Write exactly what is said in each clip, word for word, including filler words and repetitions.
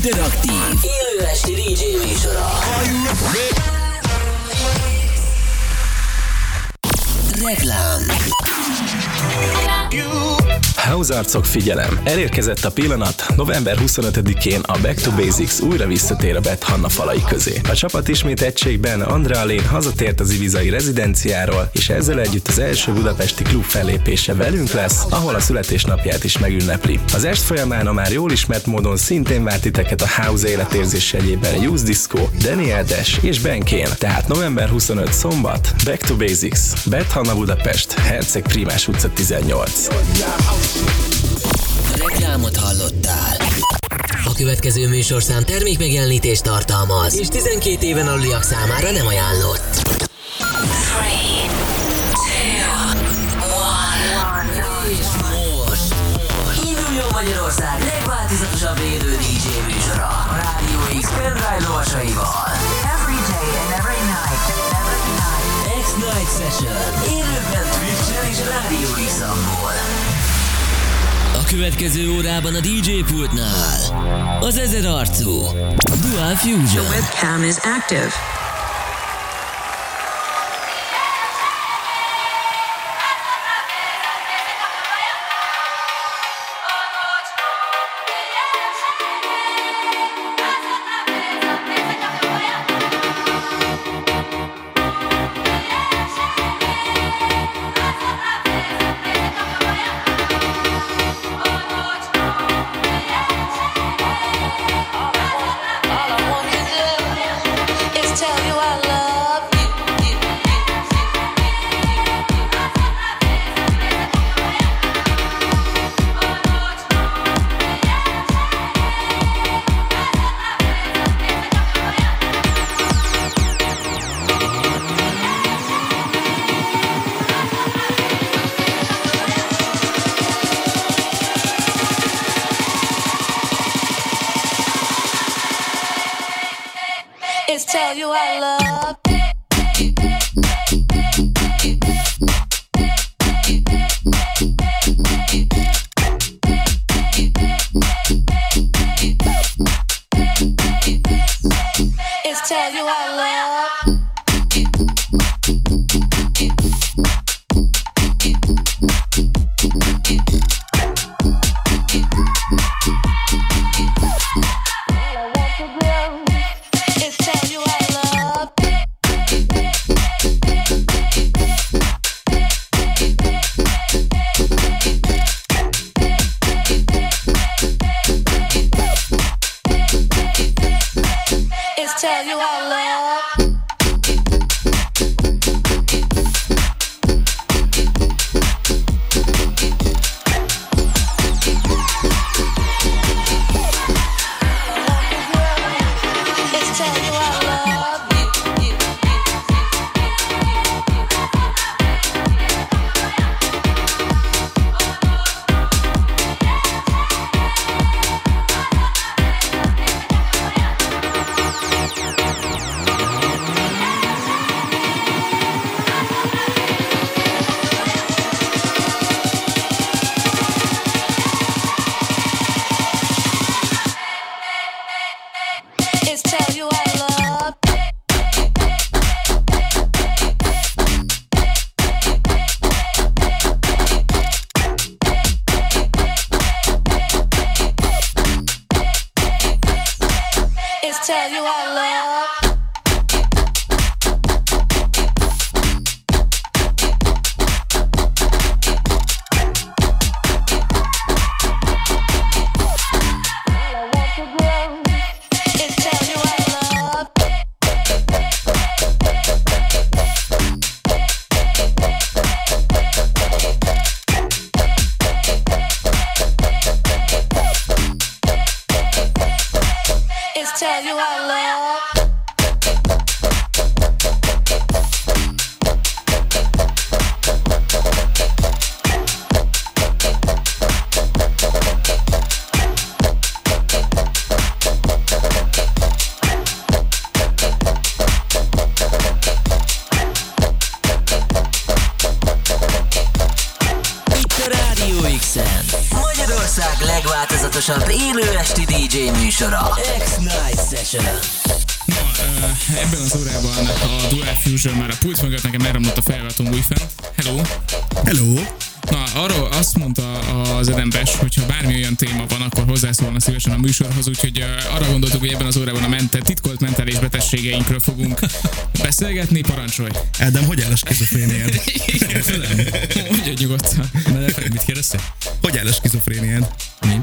interaktív, élő esti dé dzsé műsora. Reklám. House-arcok, figyelem! Elérkezett a pillanat, november huszonötödikén a Back to Basics újra visszatér a Beth Hanna falai közé. A csapat ismét egységben, Andrea Lane hazatért az ibizai rezidenciáról, és ezzel együtt az első budapesti klub fellépése velünk lesz, ahol a születésnapját is megünnepli. Az est folyamán a már jól ismert módon szintén vár titeket a House életérzés jegyében Youth Disco, Daniel Dash és Ben Kane. Tehát november huszonötödike szombat, Back to Basics, Beth Hanna Budapest, Herceg Prímás utca tizennyolc. Reklámot hallottál. A következő műsorszám termékmegjelenítést tartalmaz, és tizenkét éven aluliak számára nem ajánlott. három, kettő, egy, és most induljon Magyarország legváltozatosabb élő dé dzsé műsora a Rádió X pendrive lovasaival. Every day and every night, every night. X-Night Session. Élőben Twitch-en és Rádió X-amból. A következő órában a dé dzsé pultnál az ezer arcú Dual Fusion. The webcam is active. Magyarország legváltozatosabb élő esti dé dzsé műsora. X-Night Session. Na, uh, ebben az órában a Dual Fusion már a pult mögött nekem elromlott a feljáratom újfent. Hello! Hello! Na, arról azt mondta az Edembes, hogyha bármi olyan téma van, akkor hozzászólna szívesen a műsorhoz, úgyhogy uh, arra gondoltuk, hogy ebben az órában a mente, titkolt mentális betegségeinkről fogunk beszélgetni, parancsolj! Ádám, hogy áll a skizofréniád? Mondja nyugodtan. Mit kérdeztél? Hogy áll a skizofréniád? Mi?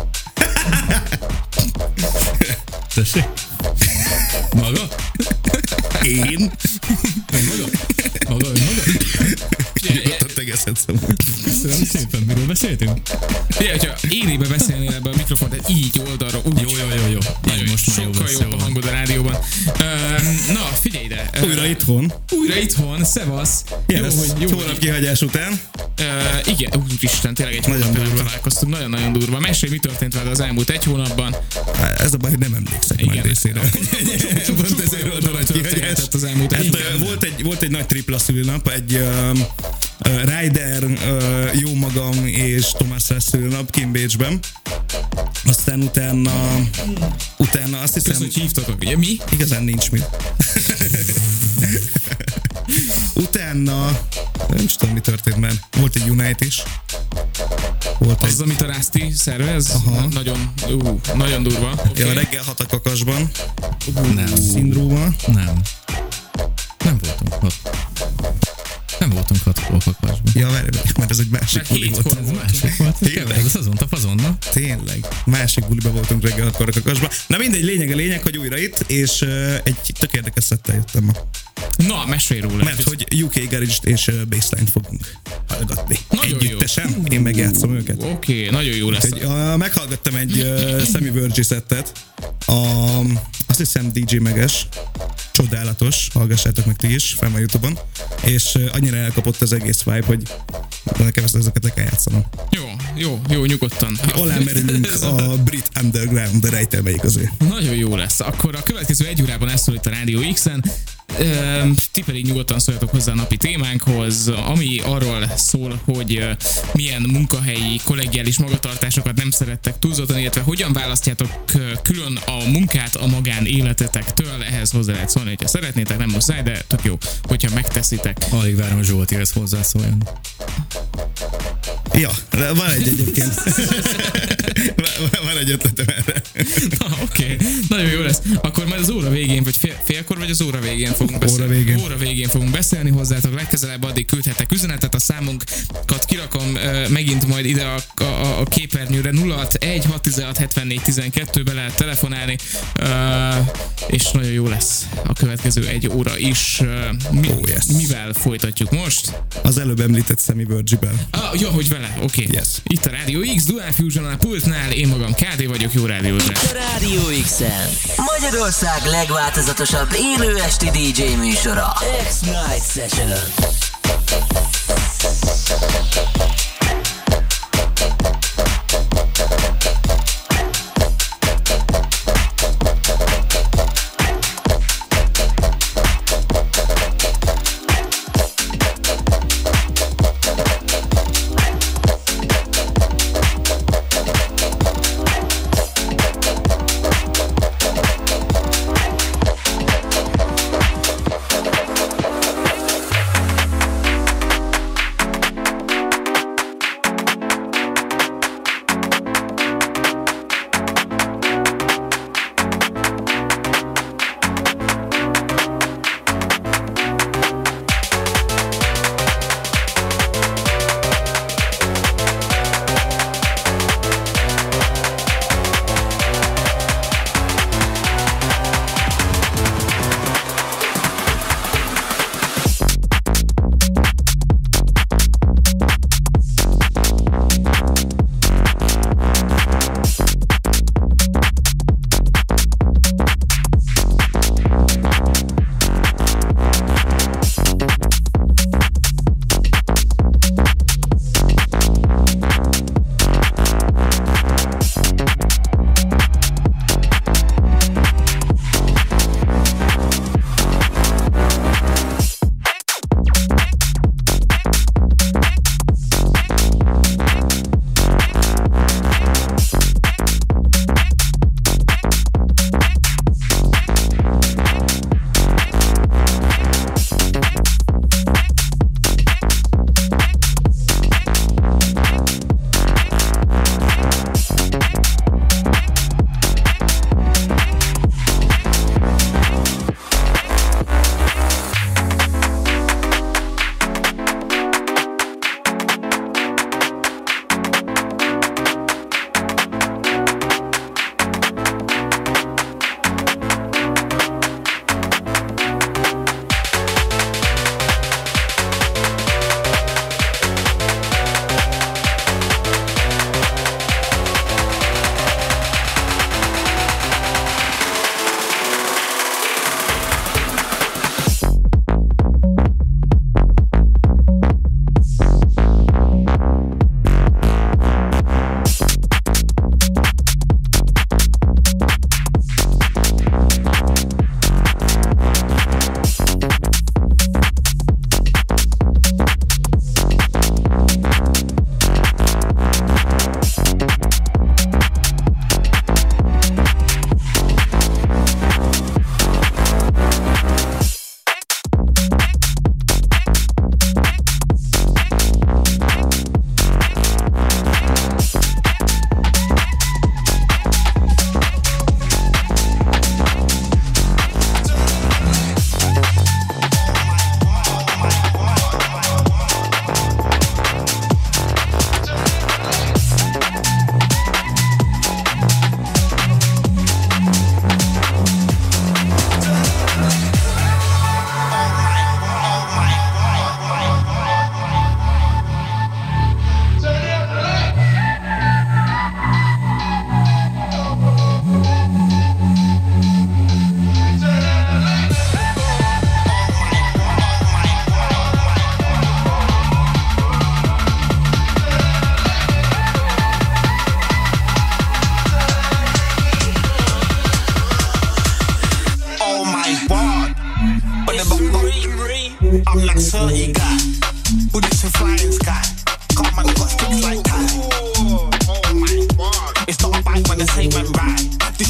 Tessék? Maga? Én? Maga? Maga, ön maga? Nyugodtan tegezhetsz amúgy. Köszönöm szépen, miről beszéltünk? Figyelj, hogyha élébe beszélnél ebbe a mikrofont, tehát így oldalra, úgy. Jó, jó, jó, jó. Nagyon most már jó sokkal lesz, jobb jó. a hangod a rádióban. Uh, na, figyelj ide. Uh, Újra itthon. Újra itthon, szevasz. Jó, hogy jó hónap kihagyás után. Uh, igen, úristen, tényleg egy Nagyon hónapja durva. találkoztunk, nagyon-nagyon durva. Mesélj, mi történt veled az elmúlt egy hónapban? Ez a baj, hogy nem emlékszek Igen. majd részére. Pont ezért jó volt a dolog nagy kihagyás. történhetett az elmúlt egy Hát, hónapban. volt, egy, volt egy nagy tripla szülnap, egy uh, uh, Ryder, uh, jó magam és Tomás szülnap kint Bécsben. Aztán utána, utána azt hiszem... Köszönöm, hogy hívtatok, ugye mi? Igazán nincs mit. Utána, nem is tudom, mi történt, mert volt egy Unite is. Volt Az, egy... amit a Rászti szervez, Aha. nagyon, ú, nagyon durva. Okay. Ja, reggel hat a kakasban. Nem. Szindróma. Nem. Nem voltunk hat. Nem voltunk hat kakasban. Ja, várj, mert ez egy másik Mert buli hétkor volt. volt. Másik volt. Tényleg? Ez azon a fazonna. Tényleg. Másik buliba voltunk reggel hatkor a kakasban. Na mindegy, lényeg a lényeg, hogy újra itt, és uh, egy tök érdekes szettel jöttem ma. Na, mesélj róla. Mert hogy u ká Garage-t és uh, Bassline-t fogunk hallgatni. Nagyon jó. Együttesen. Én megjátszom őket. Oké, okay, nagyon jó lesz. Úgyhogy, uh, meghallgattam egy uh, Sammy Virgi szettet. A, azt hiszem dé dzsé Meges. Csodálatos. Hallgassátok meg ti is, fel a YouTube-on. És uh, annyira elkapott az egész vibe, hogy nekem ezt ezeket le kell játszanom. Jó, jó, jó, nyugodtan. Alá merülünk a brit underground, de rejtelmeik az ő. Nagyon jó lesz. Akkor a következő egy órában elszól itt a Rádió X-en. Ehm, ti pedig nyugodtan szóljatok hozzá a napi témánkhoz, ami arról szól, hogy uh, milyen munkahelyi, kollegiális magatartásokat nem szerettek túlzottan, illetve hogyan választjátok uh, külön a munkát a magánéletetektől. Ehhez hozzá lehet szólni, hogyha szeretnétek, nem muszáj, de tök jó, hogyha megteszitek. Alig várom, hogy Zsolti ezt hozzászóljon. Ja, de van egy egyébként. van, van egy ötletem erre. Na, oké, okay. Nagyon jó lesz. Akkor majd az óra végén, vagy fél, félkor, vagy az óra végén fogunk beszélni. Óra végén. Óra végén fogunk beszélni hozzátok legközelebb, addig küldhetek üzenetet, a számunkat kirakom uh, megint majd ide a, a, a képernyőre nulla hatvanegy hatszáztizenhat hetvennégy tizenkettőbe lehet telefonálni, uh, és nagyon jó lesz a következő egy óra is. Uh, mi, Oh, yes. Mivel folytatjuk most? Az előbb említett Sammy Virgi-ben. Ah, jó, hogy vele, oké. Okay. Yes. Itt a Rádió X, Dual Fusion a pultnál, én magam ká dé vagyok, jó rádiózás. A Rádió X-en Magyarország legváltozatosabb élő esti dé dzsé műsora. X-Night Session.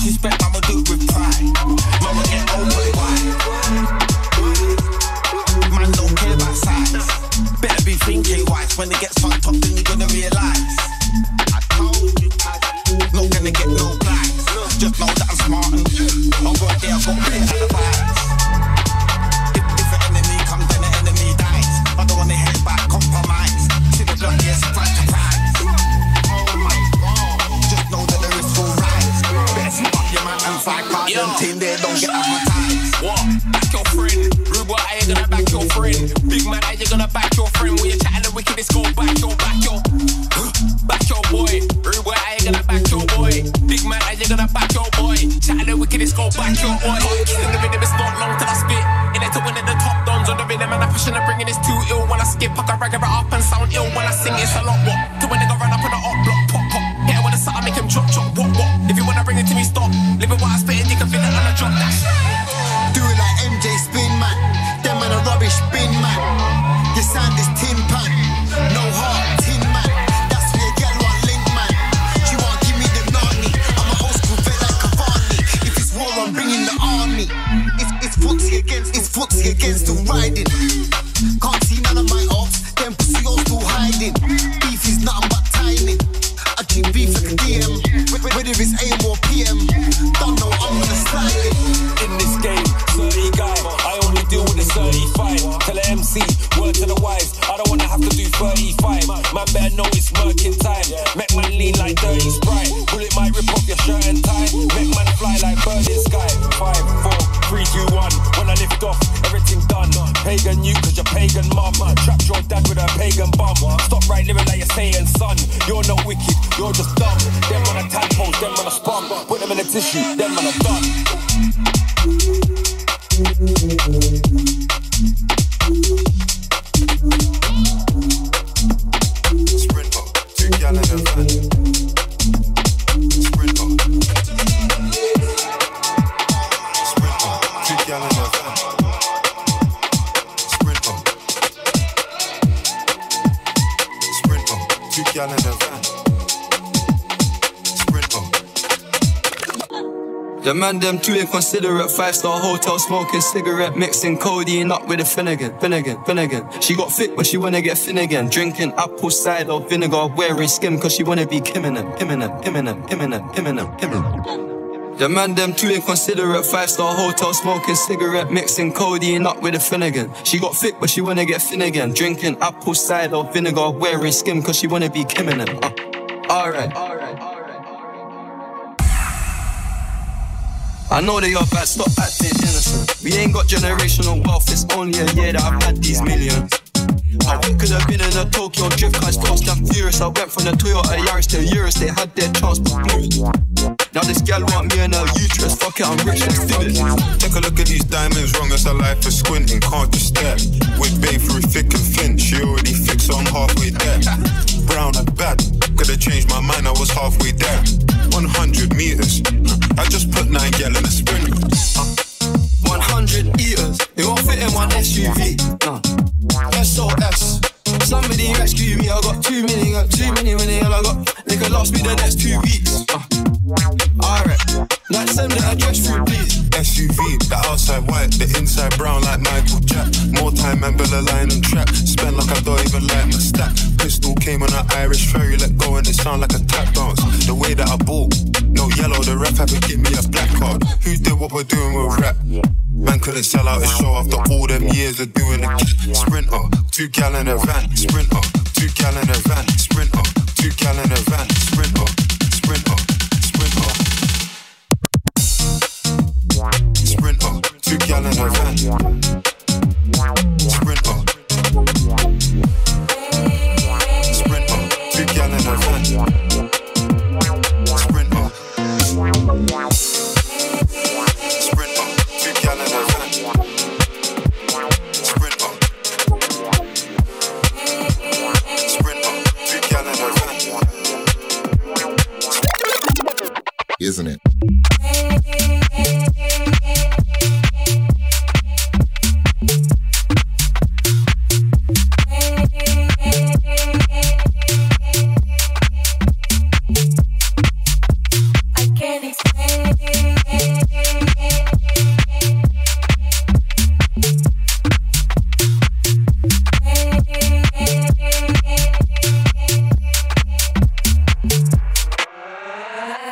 disrespect, I'ma do it with pride. Mama get over it, why? Man don't care about size. Better be thinking wise. When it gets fucked up, then you're gonna realise. I told you, not gonna get no glides. Just know that I'm smart and I'll go there, I've got a bit of advice. If, if an enemy comes, then the enemy dies. I don't wanna hear back, compromise. See the blood, yes, surprise, surprise. Oh my God, just know that the risk will rise. Better spot your man and fight part them team there, don't get advertised. What? Back your friend. Rude boy, how you gonna back your friend? Big man, how you gonna back your friend? When you're chatting the wickedest, go back your, back your back your boy. Rude boy, how you gonna back your boy? Big man, how you gonna back your boy? Chatting the wickedest, go back your boy. In the rhythm, it's not long till I spit. In it to win at the top dons on the rhythm, and I'm pushing and bringing this too ill. When I skip, I can rag it up and sound ill. When I sing, it's a lot what? To when they go run up on the up block, pop pop. Hit it with a sound, make him drop drop, what what? If you wanna bring it to me, stop. Living what I spit, you can feel it on a drop dash. Do it like M J Spin Man. Them man a rubbish bin man. Your sound is tin pan. No heart, tin man. That's where you get one link man. She won't give me the nani. I'm an old school vet like Cavani. If it's war, I'm bringing the army. It's, it's footsie against, it's footsie against the riding. Can't see none of my ops. Them pussy all still hiding. Beef is nothing but timing. I keep beef like a D M. Whether it's A M or P M. Don't know I'm gonna slide it. In this game, thirty guy, I only deal with the thirty-five. Tell the M C, word to the wives, I don't wanna have to do thirty-five. Man better know it's working time. Make man lean like dirty Sprite. Bullet might rip off your shirt and tie. Make man fly like bird in sky. Five, four, three, two, one. When I lift off, everything done. Pagan you cause you're pagan mum. Trapped your dad with a pagan bum. Stop right living like you're saying son. You're not wicked, you're just dumb. Them on a tadpole, them on a spum. Put them in a tissue, them on a done. Sprint up, two gal in a van. Sprint up. Sprint up, two gal in a van. Sprint up. Sprint up, two gal in a van. The man them too inconsiderate. Five-star hotel smoking cigarette, mixing codeine up with a Finnegan, Finnegan, Finnegan. She got fit but she wanna get Finnegan. Drinking apple cider vinegar, wearing skim cause she wanna be Kiminem, Kiminem, Kiminem, Kiminem, Kiminem, Kiminem. The man them too inconsiderate. Five-star hotel smoking cigarette, mixing codeine up with a Finnegan. She got fit but she wanna get Finnegan. Drinking apple cider vinegar, wearing skim cause she wanna be Kiminem. Uh, Alright, alright. I know they are bad, stop acting innocent. We ain't got generational wealth, it's only a year that I've had these millions. I could have been in a Tokyo drift, cause fast and furious. I went from the Toyota Yaris to Urus, they had their chance but blew it. Now this gal want me in her uterus, fuck it, I'm rich, let's do it. Take a look at these diamonds, wrong as a life for squinting, can't just stare. With babe through thick and thin, she already fixed, so I'm halfway there. Brown and bad, could've changed my mind, I was halfway there. one hundred meters, I just put nine gal in a sprint. uh. one hundred eaters, it won't fit in one S U V. uh. S O S, somebody rescue me, I got too many, got too many, many, and I got, they could last me the next two weeks. uh. Alright, like send the address through please. S U V, the outside white, the inside brown like Michael Jack. More time and Bella line and trap. Spend like I don't even like my stack. Pistol came on an Irish ferry, let go and it sound like a tap dance. The way that I bought, no yellow, the ref had to give me a black card. Who did what we're doing with rap? Man couldn't sell out a show after all them years of doing a sprinter. Two gal in a van, sprinter. Two gal in a van, sprinter. Two gal in a van, sprinter. Sprinter, sprinter. Sprinter, two gal in a van. Sprinter. Sprinter, two gal in a van. Sprinter. Sprinter, two gal in a van. Sprinter. Sprinter, two gal in a van. Isn't it? I can't explain.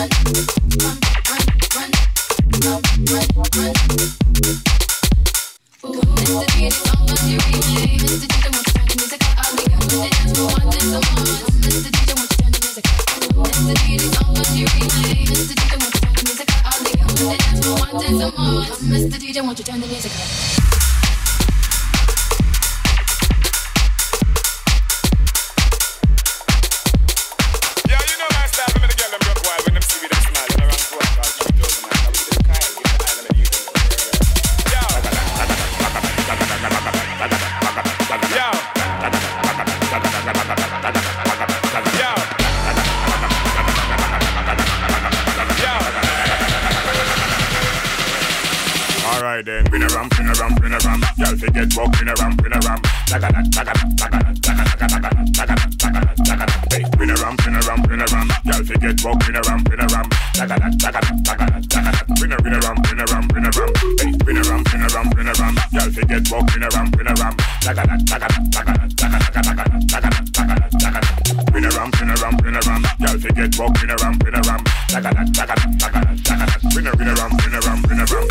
Mister D J, won't you turn the music up? Then pin a ram, pin a ram, pin a ram. Y'all forget walk, pin a ram, pin a ram. Taka da, taka da, taka da, taka da, taka da, taka da, taka da, taka da. Hey, pin a ram, pin a ram, pin a ram. Y'all forget walk, pin a ram, pin a ram. Taka da, taka da, taka da, taka da. Pin a, pin a ram, pin a ram, pin a ram. Hey, pin a ram, pin a ram, pin a ram. Y'all forget walk, pin a ram, pin a ram. Taka da, taka da, taka da, taka da, taka da, taka da, taka da, taka da. Pin a ram, pin a ram, pin a ram. Y'all forget walk, pin a ram, pin a ram. Taka da, taka da, taka da, taka da. Pin a, pin a ram, pin a ram, pin a ram.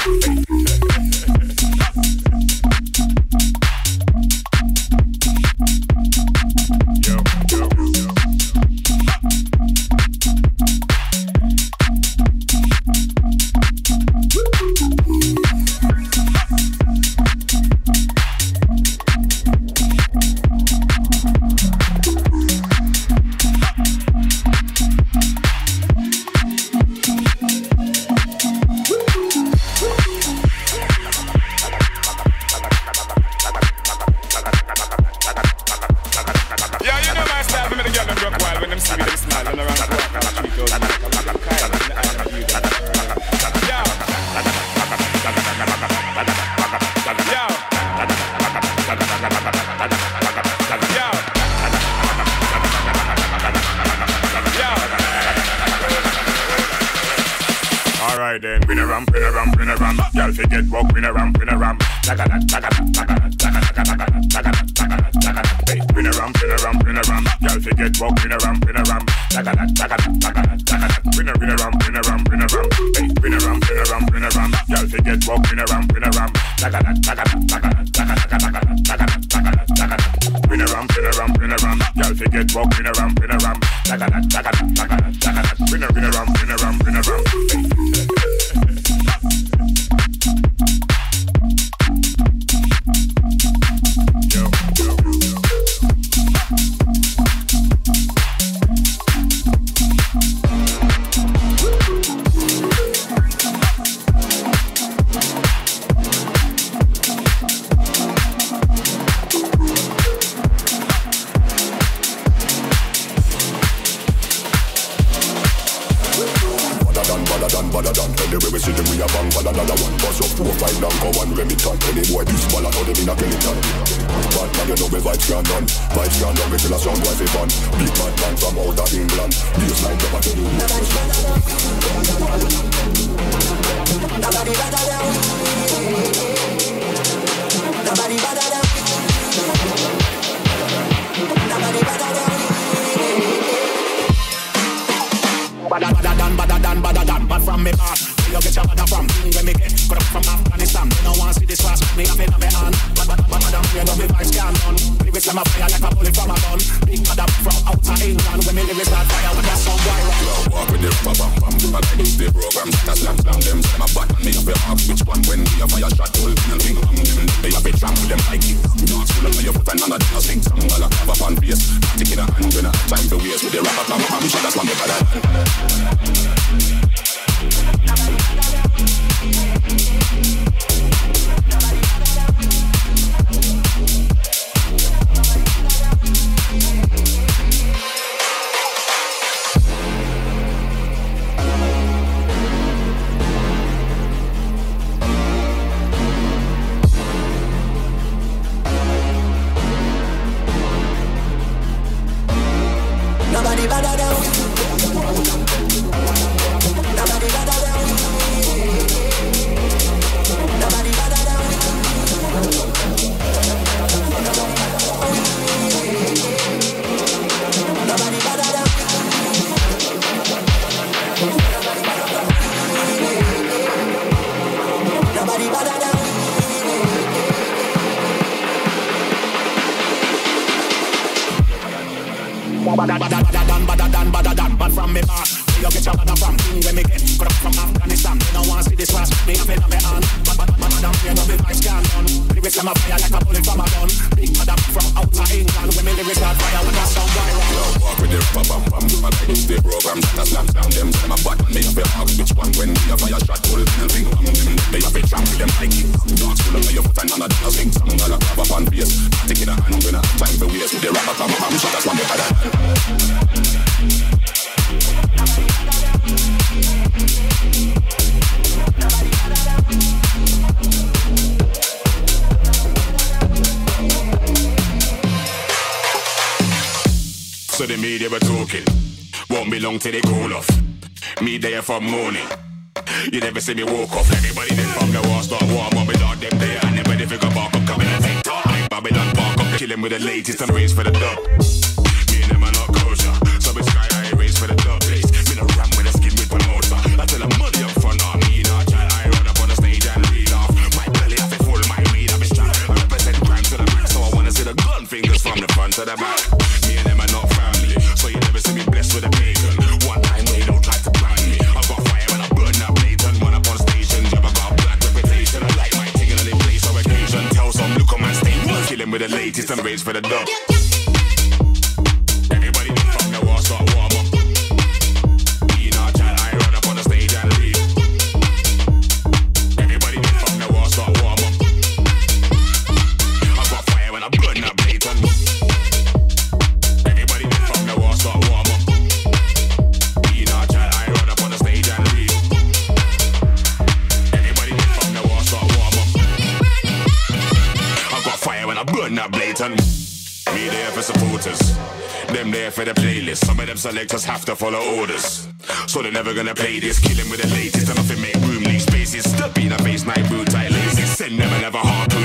Then pin a ram, pin a ram, pin a ram. Y'all forget walk, pin a ram, pin a ram. Taka da, taka da, taka da, taka da, taka da, taka da, taka da, taka da. Hey, pin a ram, pin a ram, pin a ram. Y'all forget walk, pin a ram, pin a ram. Taka da, taka da, taka da, taka da. Pin a, pin a ram, pin a ram, pin a ram. Hey, pin a ram, pin a ram, pin a ram. Y'all forget walk, pin a ram, pin a ram. Taka da, taka da, taka da, taka da, taka da, taka da, taka da, taka da. Pin a ram, pin a ram, pin a ram. Y'all forget walk, pin a ram, pin a ram. Taka da, taka da, taka da, taka da. Pin a, pin a ram, pin a ram, pin a ram. them a fire like a bullet from a gun. Big mother from outer England, when me lyrics got fire when I sound viral. Walk with the rubber bam bam, I like this day program. That slam down them, them a button. Me have a ask which one when we a fire shot. Pull the thing on them, they have a tramp with them like it. Dogs full of your foot and none of them a sing song. All a grab up on bass. Take it a hand when I have time for waste. With the rubber bam bam, shot that's one better than. So the media were talking, won't be long till they call off. Me there from morning, you never see me walk off. Everybody then from the war start warm up without them there. And everybody figure bark up, coming and take time. Babylon bark up, killing with the latest and race for the dub. Me and them are not kosher, so it's sky high race for the dub place. Me no ram with a skin with promoter. I tell them money up front on me, not child. I run up on the stage and reel off. My belly have it full, my weed have it strapped. I represent crime to the max, so I wanna see the gun fingers from the front to the back. Me and them are not family, so you never see me blessed with a pagan. One time they don't try to blind me. I got fire when I burn that blatant. When up on station, job I got black reputation. I like my thing on the place or occasion. Tell some look on my stage, kill him with the latest and raise for the dub. Everybody from the war start warm up. Me not child, I run up on the stage and leave. Everybody from the war start warm up. I got fire when I burn that blatant. Everybody from the war start warm up. Me not child, I run up on the stage and leave. Everybody from the war start warm up. I got fire when I burn that blatant. Me there for supporters, them there for the playlist. Some of them selectors have to follow orders, so they're never gonna play this. Killing with the latest and nothing make room, leave spaces. Step in a face, night boot, tight laces. Send them and never harpoon.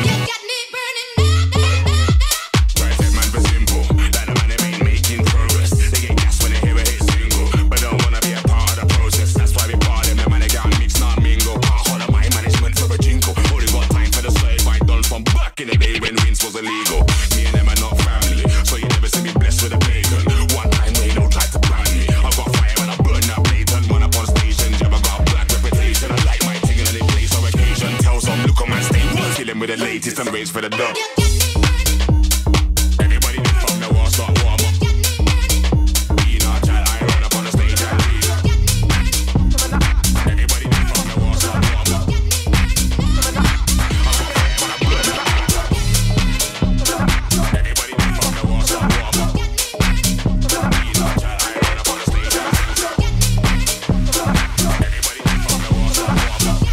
Right, that man for simple, like the man they ain't making progress. They get gas when they hear a hit single, but don't wanna be a part of the process. That's why we bar them, the man they can't mix, not mingle. Can't holler my management for a jingle. Only got time for the certified done from back in the day when wins was illegal. Me and them are not family, so you never see me blessed with a pagan. One time they don't try to plan me. I got fire when I burn that blatant. When up on station, job I got black reputation. I like my thing in any place or occasion. Tell some look on my stage, kill him with the latest and raise for the dub. Everybody from the war start warm up. Me not child, I run up on the stage and leave. Everybody from the war start warm up. I got fire when I burn that blatant. Everybody from the war start warm up. Me not child, I run up on the stage and leave. Everybody from the war start warm up.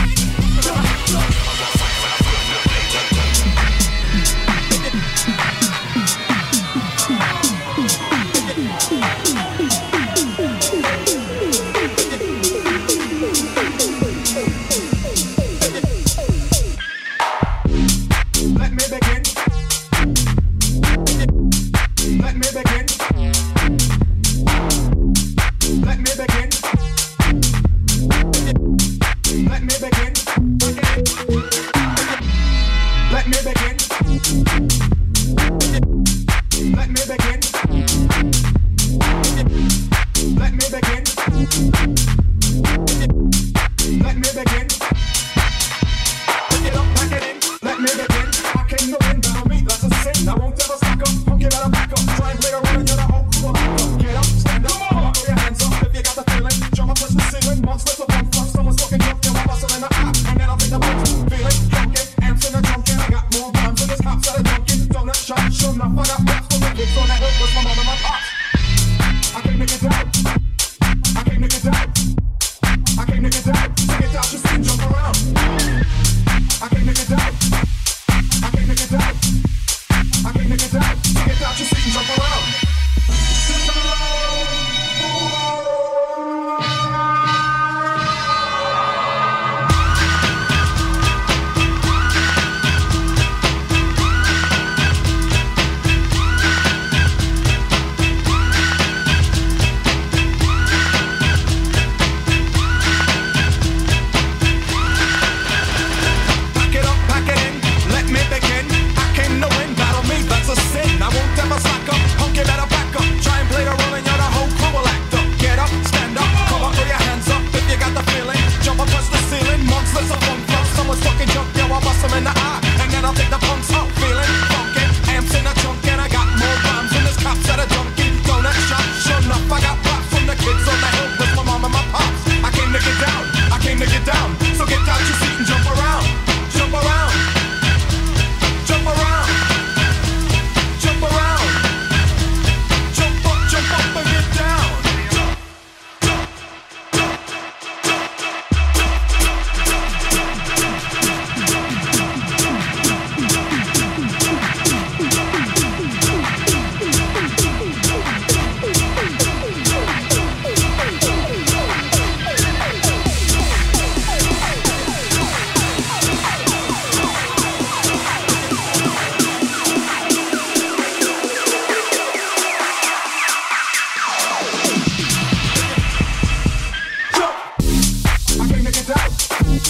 I got fire when I burn that blatant. Let me begin. Let me begin. Let me begin. Let me begin. Let me begin. Let me begin. Let me begin. Let me begin. Pick it up, pack it in. Let me begin. I came to win, battle me, that's a sin. I won't ever stack up, punk, you better back up. Try and play around and you're the whole crew. Get up, stand up, come on, throw your hands up. If you got the feeling, jump up, touch the ceiling. Monsters of one flush, someone's looking up, you're a muscle in the eye. And then I'll take the punch, feeling, drunken, amps in the drunken. I got more rhymes than this cops that are dunking. Donut shot, sure enough, I got raps for the kids on that hook was my mom and my pops. I came to get down. I came to get down. I came to get down. To get out, you see, jump around. I came to get down. I came to get down. I came to get down. To get out, you see, jump around.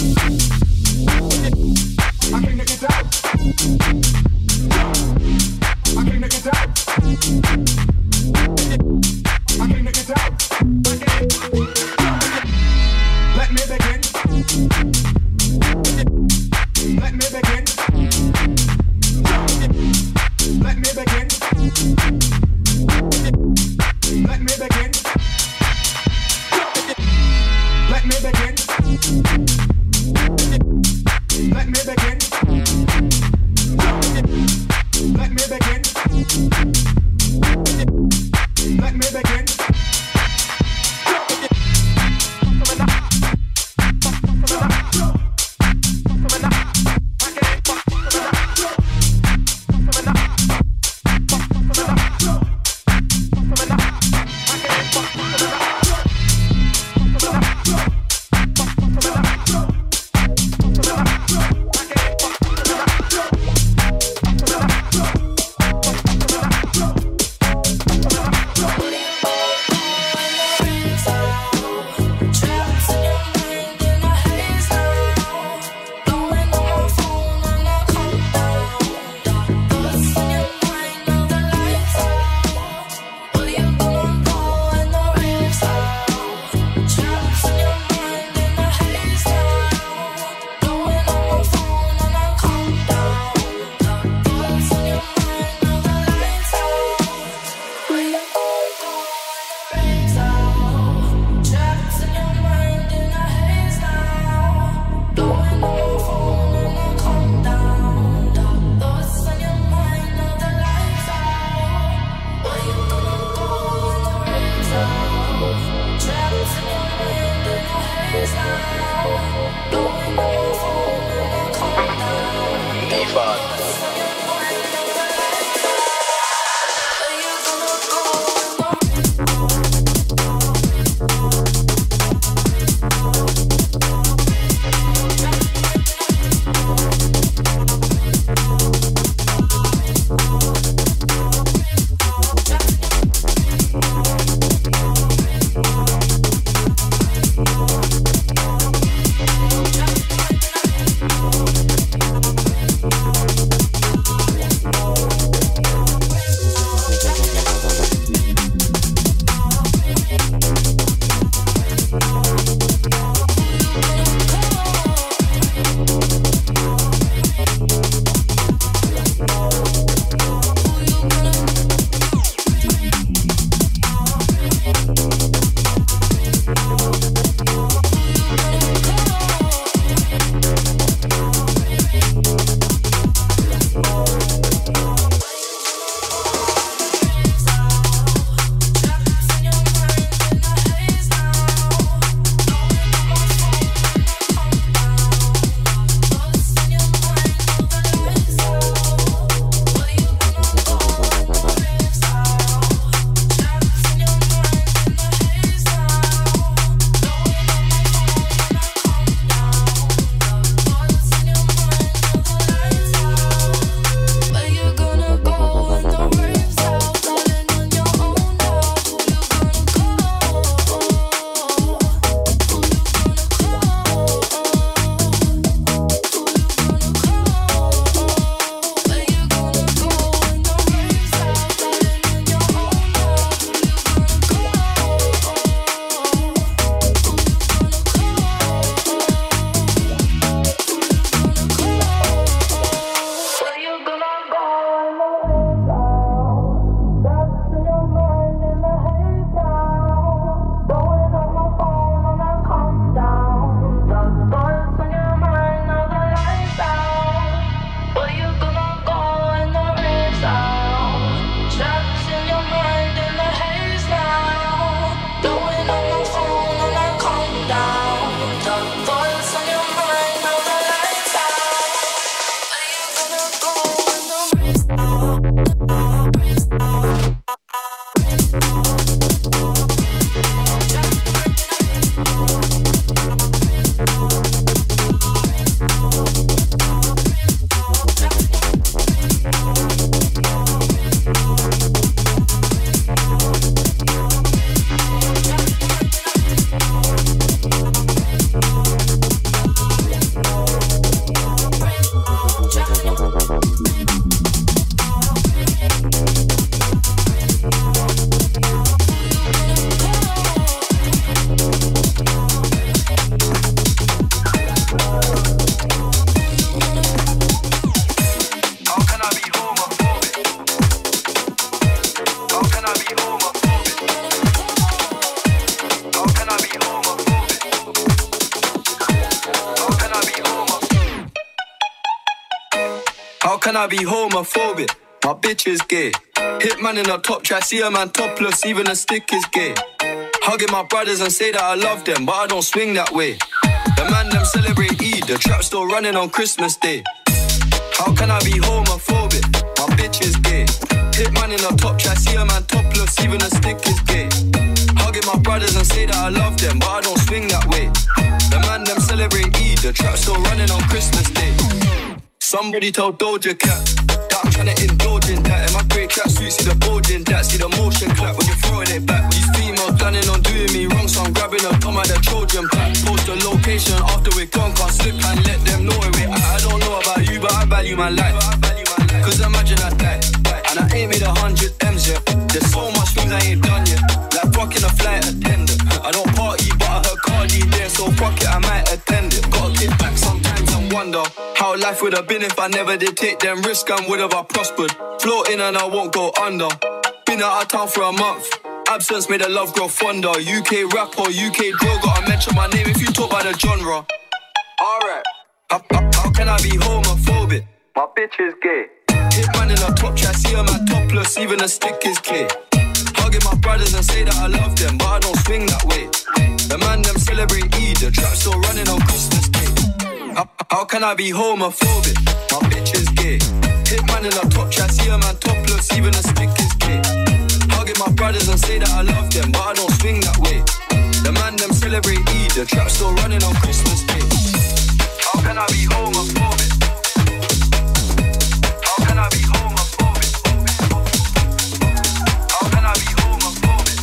Let can I be homophobic? My bitch is gay. Hitman in a top try, see a man topless, even a stick is gay. Hugging my brothers and say that I love them, but I don't swing that way. The man them celebrate Eid, the trap still running on Christmas Day. How can I be homophobic? My bitch is gay. Hitman in a top try, see a man topless, even a stick is gay. Hugging my brothers and say that I love them, but I don't swing that way. The man them celebrate Eid, the trap still running on Christmas Day. Somebody told Doja Cat that I'm tryna indulge in that. In my grey tracksuit, see the bulging that. See the motion clap when you're throwing it back. These females planning on doing me wrong, so I'm grabbing a Tom at the Trojan pack. Post the location after we're gone, can't slip and let them know where we're at. I don't know about you, but I value my life. Cause imagine I die, and I ain't made a hundred M's yet. There's so much things I ain't done yet. Like fucking a flight attendant. I don't party, but I heard Cardi there, so fuck it, I might attend it. Gotta get back sometimes and wonder how life would have been if I never did take them risks and would have I prospered. Floating and I won't go under. Been out of town for a month. Absence made the love grow fonder. U K rapper, U K drill, gotta mention my name if you talk about the genre. Alright. How, how, how can I be homophobic? My bitch is gay. Hitman in a top try, see a man topless, even a stick is gay. Hugging my brothers and say that I love them, but I don't swing that way. The man them celebrate Eid, the trap still running on Christmas Day. How, how can I be homophobic? My bitch is gay. Hitman in a top try, see a man topless, even a stick is gay. Hugging my brothers and say that I love them, but I don't swing that way. The man them celebrate Eid, the trap still running on Christmas Day. How can I be homophobic? How can I be homophobic? How can I be homophobic?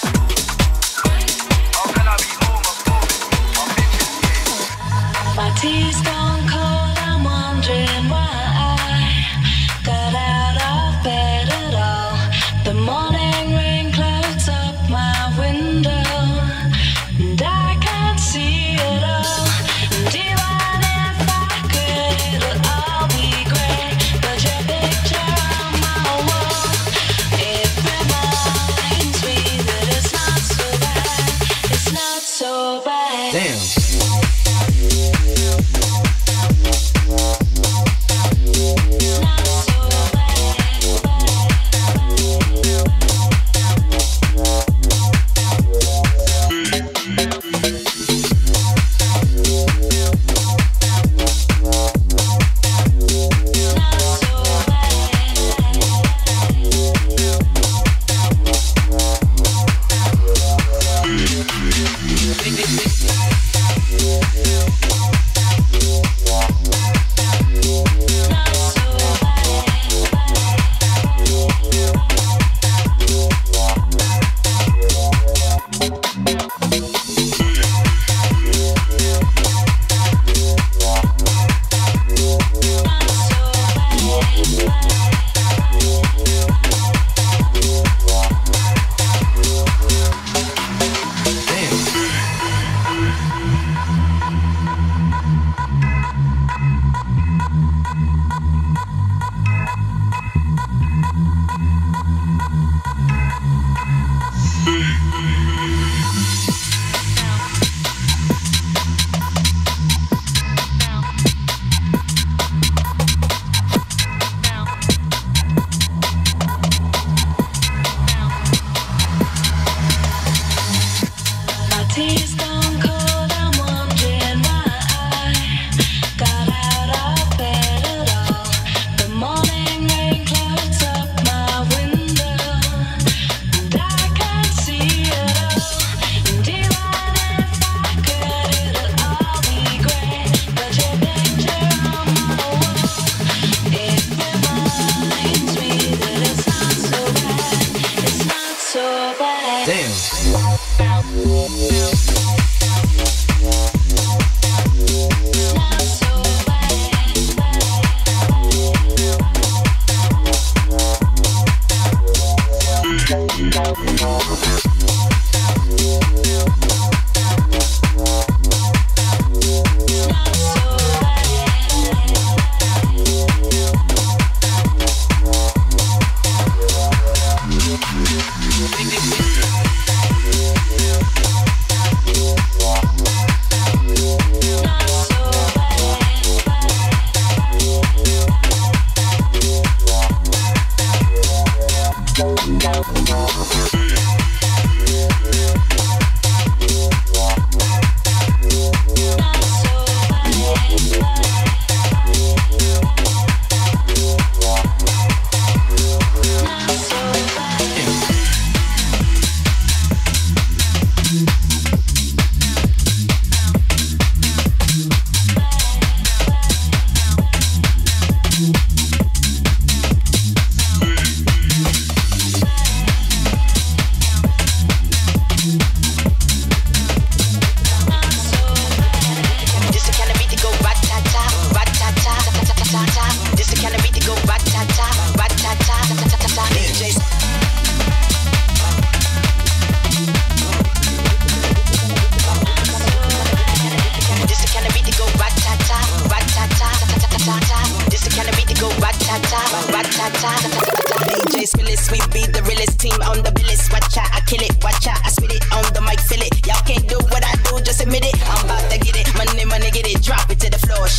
How can I be homophobic? My bitch is gay. My tea's gone cold, I'm wondering why I got out of bed at all. The morning rain clouds up my window, and I can't see it all. And even if I could, it'll all be great. But your picture on my wall, it reminds me that it's not so bad. It's not so bad. Damn. Tea's gone cold, I'm wondering why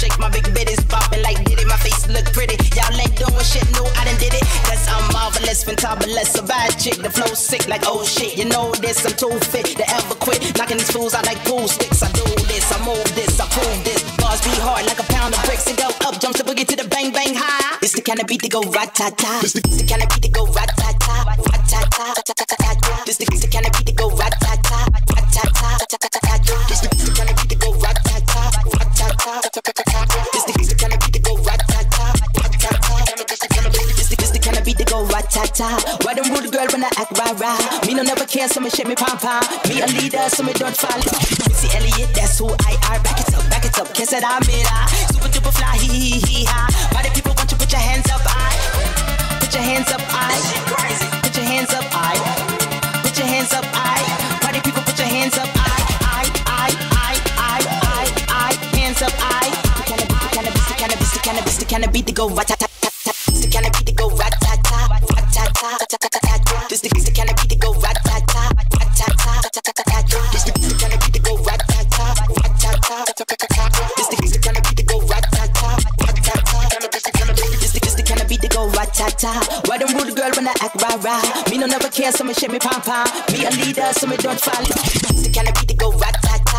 shake, my big bitties popping like did it. My face look pretty. Y'all ain't doing shit, no, I done did it. Cause I'm marvelous, fantabulous, a bad chick. The flow sick like oh shit. You know this, I'm too fit to ever quit. Knocking these fools out like pool sticks. I do this, I move this, I prove this. Bars be hard like a pound of bricks and go up. Jumps the boogie to the bang bang high. It's the kind of beat that go rat-ta-ta. It's the kind of beat that go rat-ta-ta. Rat-ta-ta. This the kind of beat that go rat-ta-ta. Rat-ta-ta. This the kind of beat that go rat-ta-ta. Rat-ta-ta. This the kind of beat that go rat-ta-ta. Rat-ta-ta. This the kind of beat that go rat-ta-ta. Why them rude girl when I act rah-rah? Me no never care, so me shake me pom-pom. Me a leader, so me don't follow. Missy Elliott, that's who I are. Back it up, back it up, kiss it, I'm it, ah. Super duper fly, hee hee hee ha. Why the people want you put your hands up, I? Put your hands up, I. Put your hands up, I. Put your hands up, I. Why the people put your hands up, I? I, I, I, I, I, I. Hands up, I. The cannabis, the cannabis, the cannabis, the cannabis, the go rat-ta-ta-ta. The cannabis, the go rat-ta-ta, rat-ta-ta. This the cannabis, the go rat-ta-ta, rat-ta-ta. This the cannabis, the go rat-ta-ta, rat-ta-ta. This the cannabis, the go rat-ta-ta, rat-ta-ta. This the cannabis, the go rat-ta-ta. Why them rude girl when I act rah-rah? Me no never care, so me shake me pom-pom. Me a leader, so me don't follow. This the cannabis, the go rat-ta-ta,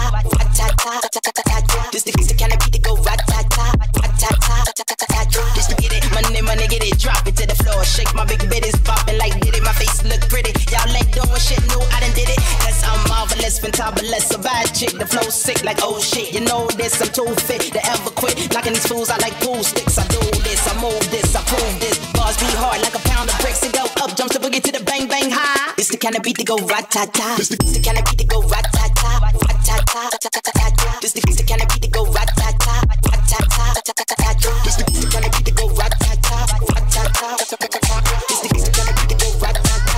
rat-ta-ta. This the cannabis, the go rat-ta-ta, rat-ta-ta. Just to get it, money, money, get it, drop it to the floor. Shake my big bitties popping like did it. My face look pretty. Y'all ain't doing shit, no, I done did it. Cause I'm marvelous, fantabulous, a bad chick. The flow sick like oh shit. You know this, I'm too fit to ever quit. Knocking these fools out like pool sticks. I do this, I move this, I prove this. Bars be hard like a pound of bricks and go up. Jumps the boogie to the bang bang high. It's the kind of beat that go rat-ta-ta. It's the kind of beat that go rat-ta-ta. Rat-ta-ta. This the kind of beat that go rat-ta-ta. Rat-ta-ta. This the kind of beat that go rat-ta-ta. Rat-ta-ta. This the kind of beat that go rat-ta-ta.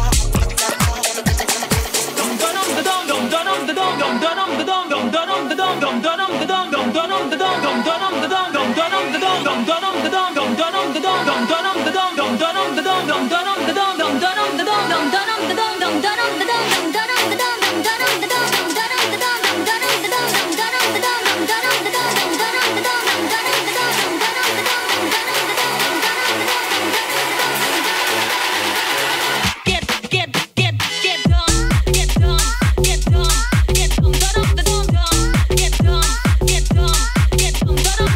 Get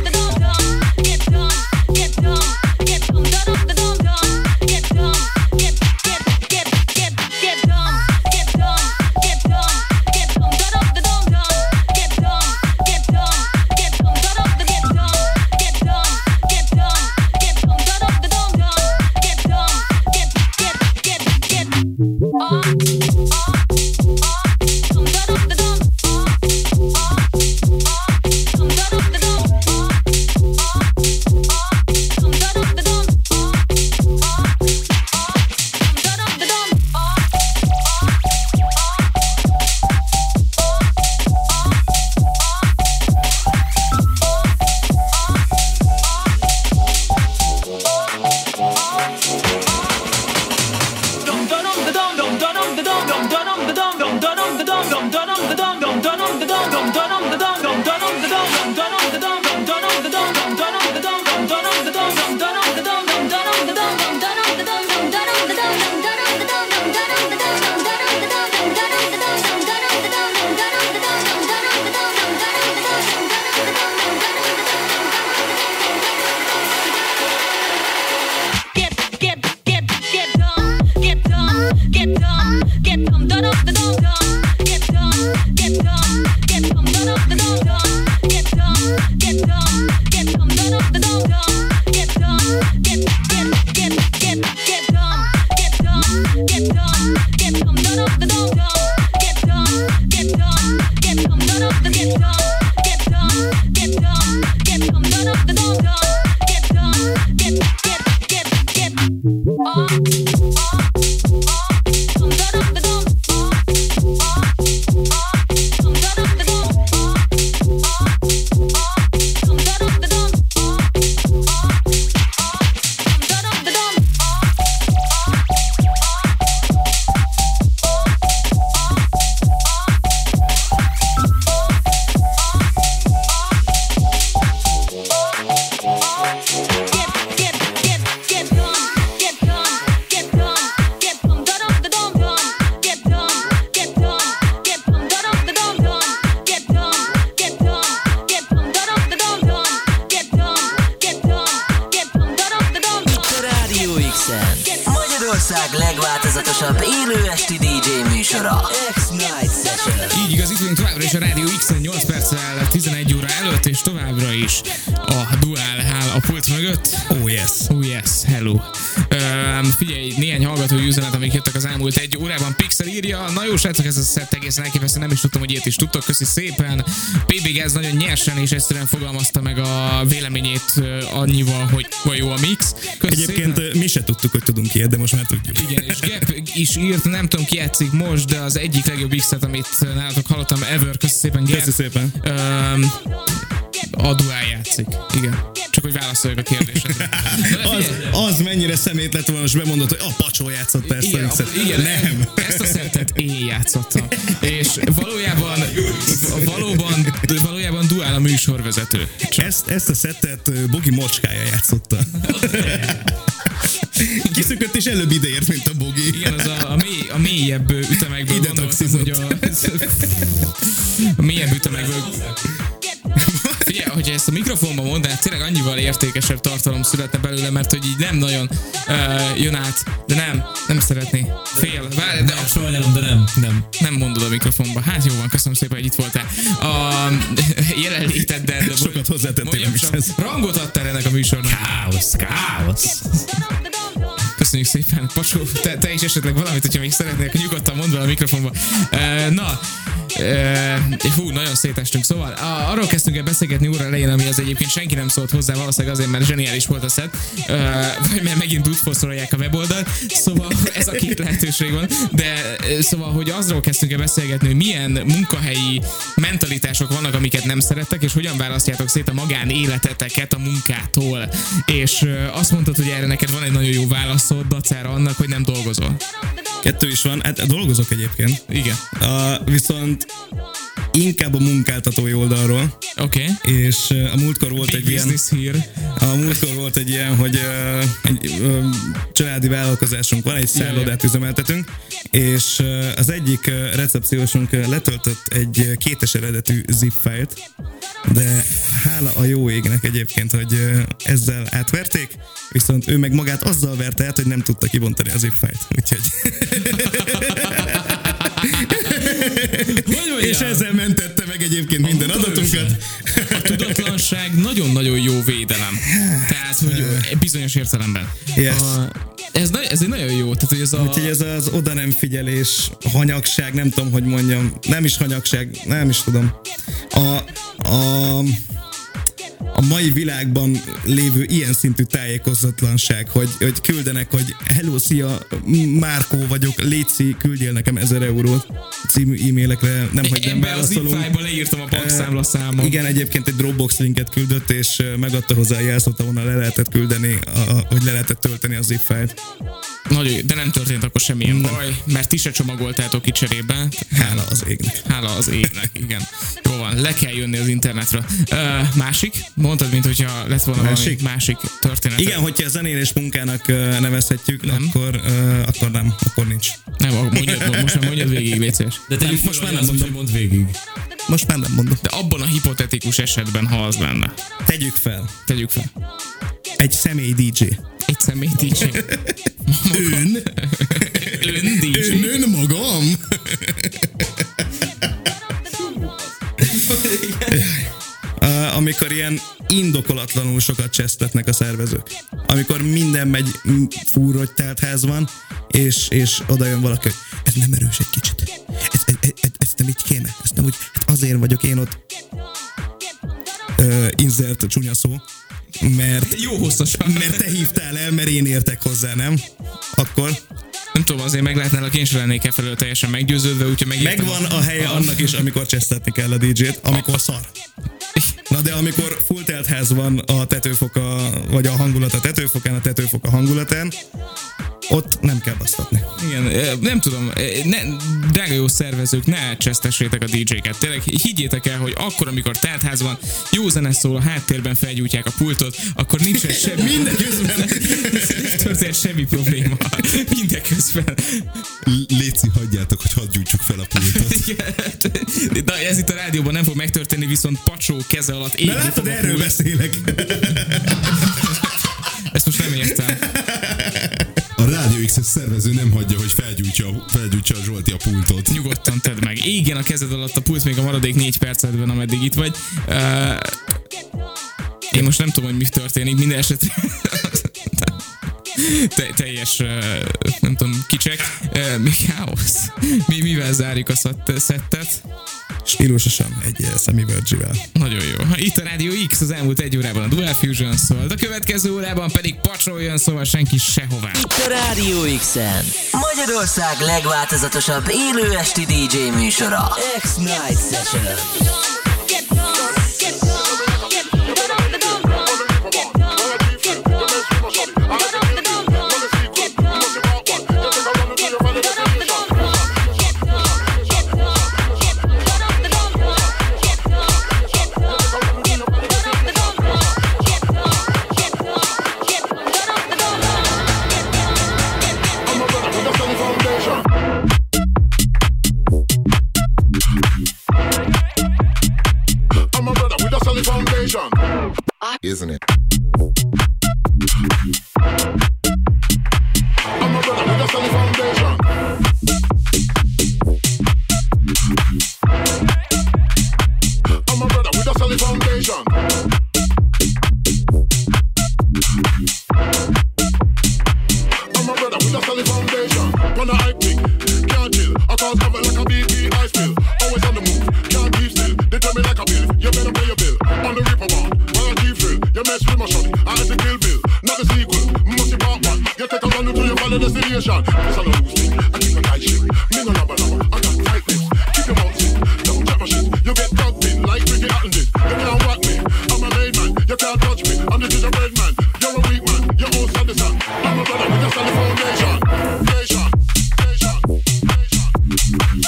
legváltozatosabb élő esti dé dzsé műsora, X-Night Session. Így igaz, itt vagyunk továbbra is a Rádió X-en nyolc perccel tizenegy óra előtt, és továbbra is a Dual áll a pult mögött. Oh yes. Oh yes, hello. Um, figyelj, néhány hallgatói üzenet, amik jöttek az elmúlt egy órában. Pixel írja, na jó srácok, ez a szett egészen elképesztő, nem is tudtam, hogy ilyet is tudtok, köszi szépen. pé bé Gáz nagyon nyersen és egyszerűen fogalmazta meg a véleményét uh, annyival, hogy van jó a mix. Köszi Egyébként szépen. Mi se tudtuk, hogy tudunk ilyet, de most már tudjuk. Igen, és Gap is írt, nem tudom ki játszik most, de az egyik legjobb X-et, amit nálatok hallottam ever. Köszi szépen, Gap. Köszi szépen. Um, a Dual játszik. Igen. Csak hogy válaszoljak a kérdésedre. az, az mennyire szemét lett volna, most bemondott, hogy a Pacsó játszotta ezt igen, a X-et. Igen, nem. Ezt a szettet én játszottam. És valójában valóban, valójában Dual a műsorvezető. Ezt, ezt a szettet Bogi Mocskája játszotta. Kiszökött és előbb ideért, mint a Bogi. Igen, az a, a, mély, a mélyebb ütemekből ide gondoltam, hogy a, a mélyebb ütemekből. Figyelj, hogyha ezt a mikrofonban mondanád, tényleg annyival értékesebb tartalom születne belőle, mert hogy így nem nagyon uh, jön át, de nem, nem szeretné. Fél. Várj, de sajnálom, de nem, nem. Nem mondod a mikrofonba. Hát jó van, köszönöm szépen, hogy itt voltál. A jelenléteddel. De sokat hozzátettél a mixhez. Rangot adtál ennek a műsornak. Káosz, káosz. Köszönjük szépen. Pacsó, te, te is esetleg valamit, hogyha még szeretnél, nyugodtan mondd be a mikrofonba. Uh, na, uh, hú, nagyon szétestünk. Szóval a, arról kezdtünk el beszélgetni óra elején, ami az egyébként senki nem szólt hozzá, valószínűleg azért, mert zseniális volt a szett, uh, vagy mert megint brutforszolják a weboldalt. Szóval ez a két lehetőség van. De szóval, hogy azról kezdtünk el beszélgetni, hogy milyen munkahelyi mentalitások vannak, amiket nem szerettek, és hogyan választjátok szét a magánéleteteket a munkától. És uh, azt mondtad, hogy erre neked van egy nagyon jó válaszod, dacára annak, hogy nem dolgozol. Kettő is van, hát dolgozok egyébként. Igen. Uh, viszont inkább a munkáltatói oldalról. Oké. Okay. És uh, a múltkor volt Big egy ilyen... Here. A múltkor volt egy ilyen, hogy uh, egy uh, családi vállalkozásunk van, egy szállodát üzemeltetünk, és uh, az egyik uh, recepciósunk uh, letöltött egy uh, kétes eredetű zip fájlt, de hála a jó égnek egyébként, hogy uh, ezzel átverték, viszont ő meg magát azzal verte át, hogy nem tudta kibontani a zip fájlt. Úgyhogy... És ezzel mentette meg egyébként minden adatunkat. A tudatlanság nagyon-nagyon jó védelem. Tehát, hogy bizonyos értelemben. Yes. A, ez, ez egy nagyon jó. Tehát, hogy ez a... Úgyhogy ez az oda nem figyelés, hanyagság, nem tudom, hogy mondjam. Nem is hanyagság, nem is tudom. A... a a mai világban lévő ilyen szintű tájékozatlanság, hogy, hogy küldenek, hogy hello, szia, Márkó vagyok, létszi, küldjél nekem ezer eurót című e-mailekre, nem, hogy nem válaszolunk. Ebben a zip leírtam a bankszámla számom. Igen, egyébként egy Dropbox linket küldött, és megadta hozzá a jelszót, ahonnan le lehetett küldeni, a, hogy le lehetett tölteni a zip fájlt. Nagyon jó, de nem történt akkor semmilyen nem. baj, mert ti se csomagoltátok ki cserébe. Hála az égnek. Hála az égnek, igen. Jó van, le kell jönni az internetre. Uh, másik? Mondtad, mint hogyha lett volna másik? valami másik történet. Igen, hogyha a zenélés munkának uh, nevezhetjük, nem. Akkor, uh, akkor nem, akkor nincs. Nem, mondjad, most már mondjad végig, légy szíves. De te most már nem mondom, mond végig. Most már nem mondom. De abban a hipotetikus esetben, ha az lenne. Tegyük fel. Tegyük fel. Egy személy dé dzsé. Egy személy dé dzsé. Ön? Ön dé dzsé. Ön, ön magam? Uh, amikor ilyen indokolatlanul sokat csesztetnek a szervezők. Amikor minden megy fúrrogy teltház van, és, és oda jön valaki, hogy ez nem erős egy kicsit. Ez, ez, ez, ez nem így kéne. Ez nem úgy, hát azért vagyok én ott uh, insert csúnya szó, mert, jó hosszasan. Mert te hívtál el, mert én értek hozzá, nem? Akkor... Nem tudom, azért meg lehetne, én sem lennék e felől teljesen meggyőződve, úgyhogy megértem. Megvan a helye annak is, amikor csesztetni kell a dé dzsét, amikor szar. Na de amikor full teltház van a tetőfoka, vagy a hangulat a tetőfokán, a tetőfok a hangulatán, ott nem kell basztatni. Igen, nem tudom, ne, drága jó szervezők, ne csesztessétek a dé dzséket. Tényleg higgyétek el, hogy akkor, amikor teltház van, jó zene szól, a háttérben felgyújtják a pultot, akkor nincs semmi. Mindeközben nem történt semmi probléma. Mindeközben. Léci, hagyjátok, hogy hadd gyújtsuk fel a pultot. Na, ez itt a rádióban nem fog megtörténni, viszont Pacsó keze alatt égni. De látod, erről beszélek. Ezt most nem értem. A Rádió X-es szervező nem hagyja, hogy felgyújtsa, felgyújtsa a Zsolti a pultot. Nyugodtan tedd meg. Igen, a kezed alatt a pult még a maradék négy percetben, ameddig itt vagy. Uh, én most nem tudom, hogy mi történik, minden esetre Te, teljes, nem tudom, kicsek. Mi káosz? Mi, mivel zárjuk a szettet? Stílusosan egy Sammy Virgie-vel. Nagyon jó. Itt a Rádió X, az elmúlt egy órában a Dual Fusion szólt, a következő órában pedig pacsoljon, szóval senki sehová. Itt a Rádió X-en Magyarország legváltozatosabb élő esti dé dzsé műsora, X-Night Session. Isn't it? I'm a brother with a solid foundation. I'm a brother with a solid foundation. I'm a brother with a solid foundation. Wanna hype thing, can't chill. I cause have it like a B P I spill. Always on the move, can't keep still. They tell me like a bill, you better pay your bill. On the Reaper one, while I keep thrill. You mess with my shorty, I had to kill Bill. Not the sequel, must be part one. You take a run until you follow the destination. This a no loose thing, I keep a tight shit. Me no lava lava, I got tight lips. Keep your mouth in, don't chat my shit. You get tugged in like Ricky Hatton did. You can't whack me, I'm a made man. You can't touch me, I'm the gingerbread man. You're a weak man, you're all sadism. I'm a brother with a solid foundation. Nation, nation, nation.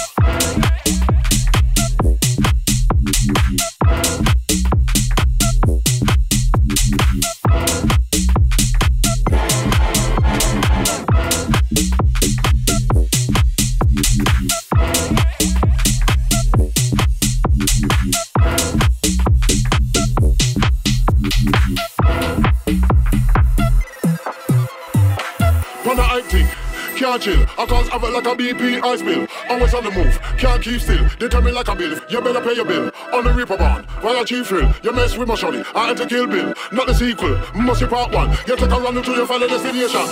Can't chill, I cause have it like a B P I spill. Always on the move, can't keep still. They tell me like a bill, you better pay your bill. On the Reaper bond, while I chief thrill. You mess with my shorty, I had to kill Bill. Not the sequel, must be part one. You take a run until you find a destination.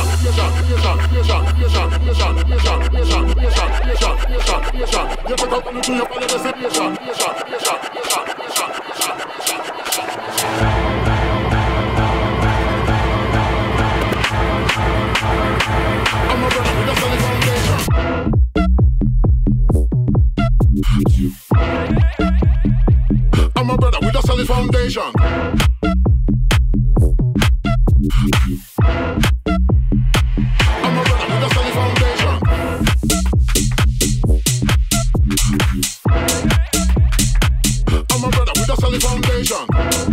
You take a run until you find a destination. I'm a brother with a solid foundation. I'm a brother with a solid foundation. I'm a brother with a solid foundation. I'm a brother with a solid foundation.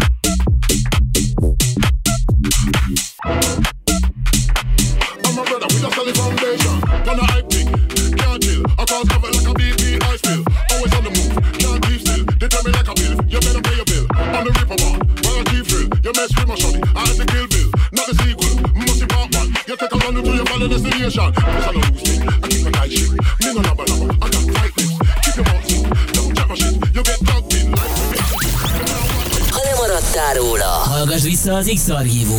I'm a brother with a solid foundation. Wanna hype thing, can't chill. I cause have it like a B P I spill. Always on the move, can't keep still. They tell me like a bill, you better pay your bill. On the Reaper one, while I keep thrill. You mess with my shorty, I had to kill Bill. Not the sequel, must be part one. You take a run until you follow the destination. This a no loose thing, I keep a tight shit. Me no lava lava, I got tight lips. Keep your mouth in, don't chat my shit. You get tugged in like Ha lemaradtál róla, hallgass vissza az X-Archívum